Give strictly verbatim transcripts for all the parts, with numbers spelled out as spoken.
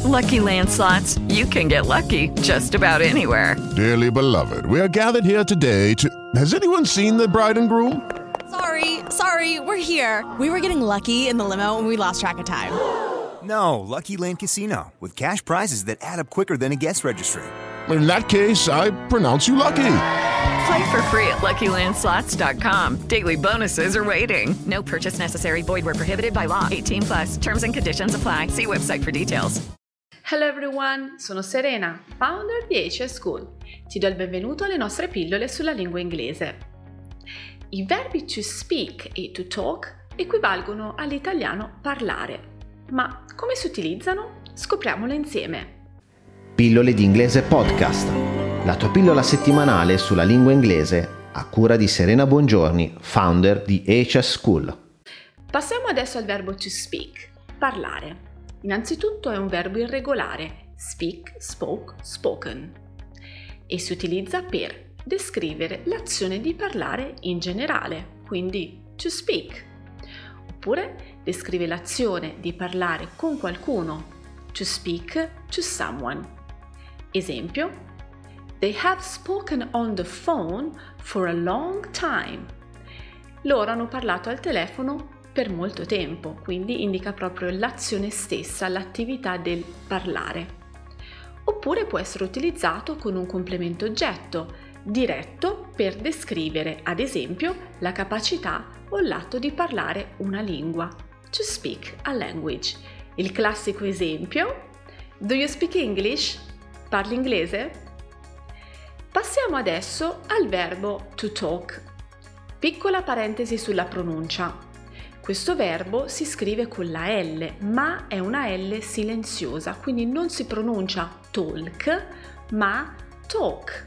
Lucky Land Slots, you can get lucky just about anywhere. Dearly beloved, we are gathered here today to... Has anyone seen the bride and groom? Sorry, sorry, we're here. We were getting lucky in the limo and we lost track of time. No, Lucky Land Casino, with cash prizes that add up quicker than a guest registry. In that case, I pronounce you lucky. Play for free at Lucky Land Slots dot com. Daily bonuses are waiting. No purchase necessary. Void where prohibited by law. eighteen plus. Terms and conditions apply. See website for details. Hello everyone, sono Serena, founder di H S School. Ti do il benvenuto alle nostre pillole sulla lingua inglese. I verbi to speak e to talk equivalgono all'italiano parlare. Ma come si utilizzano? Scopriamolo insieme. Pillole di inglese podcast, la tua pillola settimanale sulla lingua inglese a cura di Serena Bongiorni, founder di H S School. Passiamo adesso al verbo to speak, parlare. Innanzitutto è un verbo irregolare, speak, spoke, spoken, e si utilizza per descrivere l'azione di parlare in generale, quindi to speak. Oppure descrive l'azione di parlare con qualcuno, to speak to someone. Esempio, they have spoken on the phone for a long time. Loro hanno parlato al telefono per molto tempo, quindi indica proprio l'azione stessa, l'attività del parlare. Oppure può essere utilizzato con un complemento oggetto, diretto per descrivere, ad esempio, la capacità o l'atto di parlare una lingua, to speak a language. Il classico esempio, do you speak English? Parli inglese? Passiamo adesso al verbo to talk. Piccola parentesi sulla pronuncia. Questo verbo si scrive con la L, ma è una L silenziosa, quindi non si pronuncia talk, ma talk.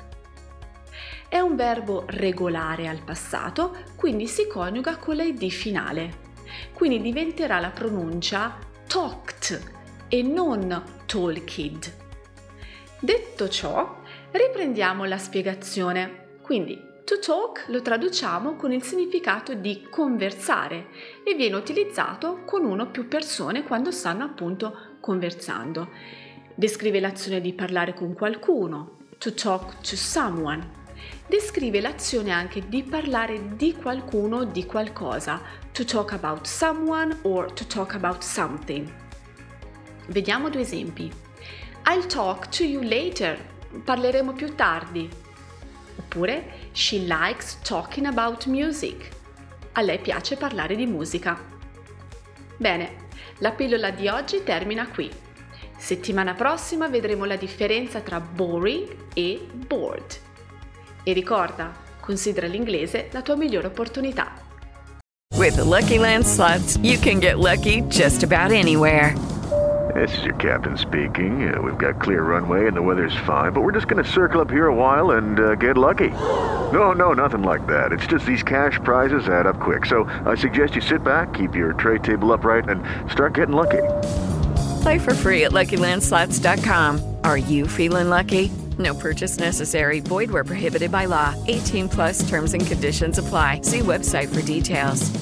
È un verbo regolare al passato, quindi si coniuga con la id finale. Quindi diventerà la pronuncia talked e non talked. Detto ciò, riprendiamo la spiegazione. Quindi, to talk lo traduciamo con il significato di conversare e viene utilizzato con uno o più persone quando stanno appunto conversando. Descrive l'azione di parlare con qualcuno, to talk to someone. Descrive l'azione anche di parlare di qualcuno o di qualcosa, to talk about someone or to talk about something. Vediamo due esempi. I'll talk to you later. Parleremo più tardi. Oppure, she likes talking about music. A lei piace parlare di musica. Bene, la pillola di oggi termina qui. Settimana prossima vedremo la differenza tra boring e bored. E ricorda, considera l'inglese la tua migliore opportunità. With the Lucky Land Slots, you can get lucky just about anywhere. This is your captain speaking. Uh, we've got clear runway and the weather's fine, but we're just going to circle up here a while and uh, get lucky. No, no, nothing like that. It's just these cash prizes add up quick. So I suggest you sit back, keep your tray table upright, and start getting lucky. Play for free at Lucky Land Slots dot com. Are you feeling lucky? No purchase necessary. Void where prohibited by law. eighteen plus terms and conditions apply. See website for details.